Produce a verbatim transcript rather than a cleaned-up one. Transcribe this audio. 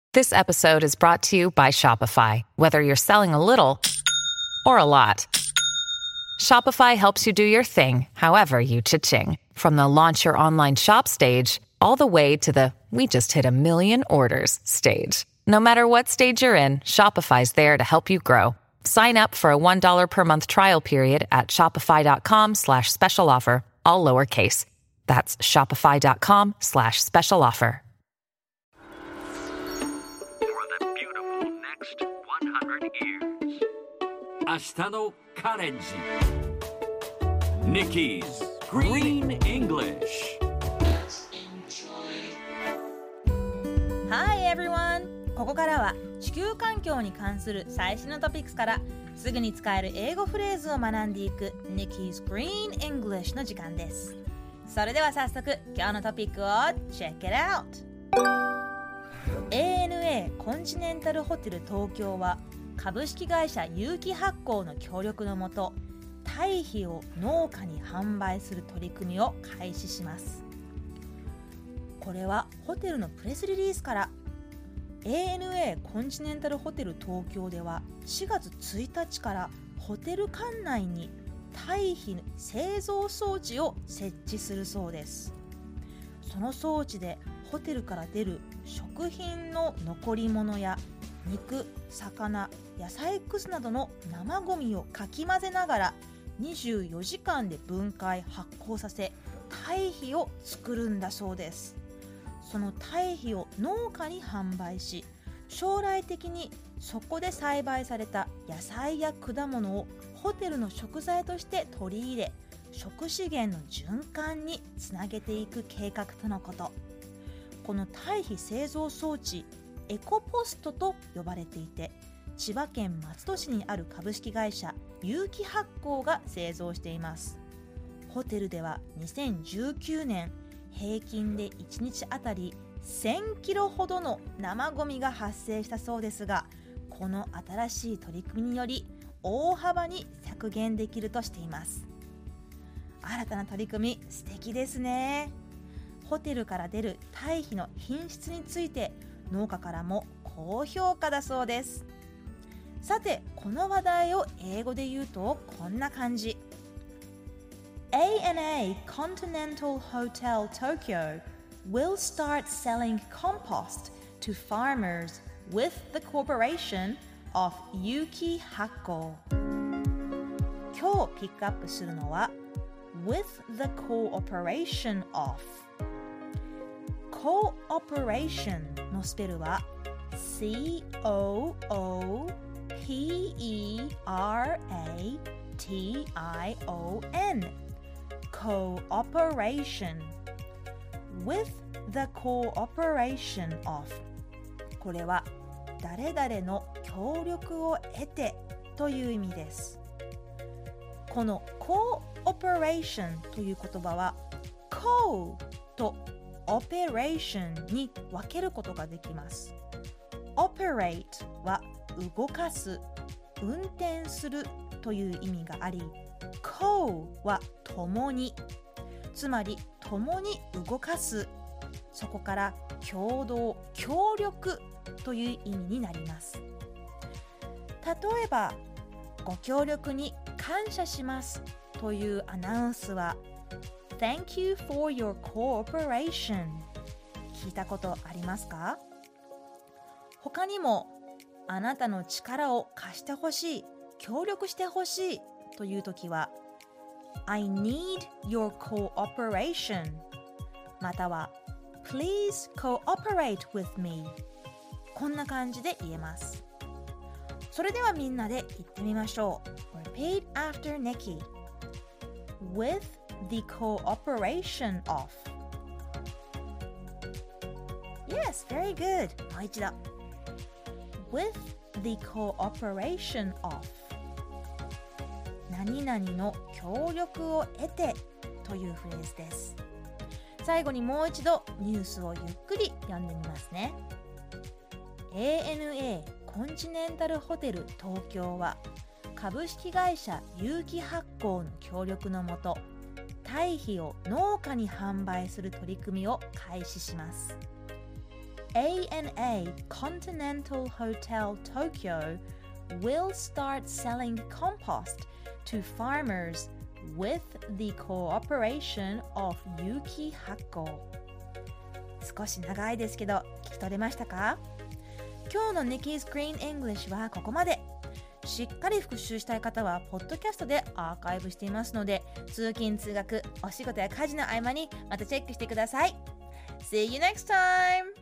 This episode is brought to you by Shopify. Whether you're selling a little or a lot, Shopify helps you do your thing, however you cha-ching. From the launch your online shop stage, all the way to the we just hit a million orders stage. No matter what stage you're in, Shopify's there to help you grow. Sign up for a one dollar per month trial period at shopify.com slash special offer, all lowercase. That's shopify.com slash special offer. For the beautiful next one hundred years. 明日のカレンジ Nikki's Green English. Hi everyone! ここからは地球環境に関する最新のトピックスからすぐに使える英語フレーズを学んでいく Nikki's Green English の時間です。それでは早速今日のトピックを Check it out! エーエヌエー コンチネンタルホテル東京は株式会社有機発酵の協力のもと堆肥を農家に販売する取り組みを開始します。これはホテルのプレスリリースから エーエヌエー コンチネンタルホテル東京ではしがつついたちからホテル館内に堆肥製造装置を設置するそうです。その装置でホテルから出る食品の残り物や肉、魚、野菜くずなどの生ゴミをかき混ぜながらにじゅうよじかんで分解発酵させ堆肥を作るんだそうです。その堆肥を農家に販売し将来的にそこで栽培された野菜や果物をホテルの食材として取り入れ食資源の循環につなげていく計画とのこと。この堆肥製造装置エコポストと呼ばれていて千葉県松戸市にある株式会社有機発酵が製造しています。ホテルではにせんじゅうきゅうねん平均でいちにちあたりせんキロほどの生ゴミが発生したそうですが、この新しい取り組みにより大幅に削減できるとしています。新たな取り組み素敵ですね。ホテルから出る堆肥の品質について農家からも高評価だそうです。さてこの話題を英語で言うとこんな感じ。 エーエヌエー Continental Hotel Tokyo will start selling compost to farmers with the cooperation of 有機発酵。今日ピックアップするのは with the cooperation of。 cooperation のスペルは シーオーオーピーイーアールエーティーアイオーエヌ Cooperation With the cooperation of これは誰々の協力を得てという意味です。この Cooperation という言葉は Co と Operation に分けることができます。Operate は動かす、運転するという意味があり、Co は共に、つまり共に動かす、そこから共同、協力という意味になります。例えば、ご協力に感謝しますというアナウンスは Thank you for your cooperation 聞いたことありますか？他にもあなたの力を貸してほしい、協力してほしいというときは I need your cooperation または Please cooperate with me こんな感じで言えます。それではみんなで言ってみましょう。 Repeat after Nikki With the cooperation of Yes, very good もう一度With the cooperation of 何々の協力を得てというフレーズです。最後にもう一度ニュースをゆっくり読んでみますね。 エーエヌエー コンチネンタルホテル東京は株式会社有機発酵の協力のもと堆肥を農家に販売する取り組みを開始します。 エーエヌエー Continental Hotel Tokyo will start selling compost to farmers with the cooperation of 有機発酵。少し長いですけど聞き取れましたか？今日の Nikki's Green English はここまで。しっかり復習したい方はポッドキャストでアーカイブしていますので、通勤通学、お仕事や家事の合間にまたチェックしてください。See you next time!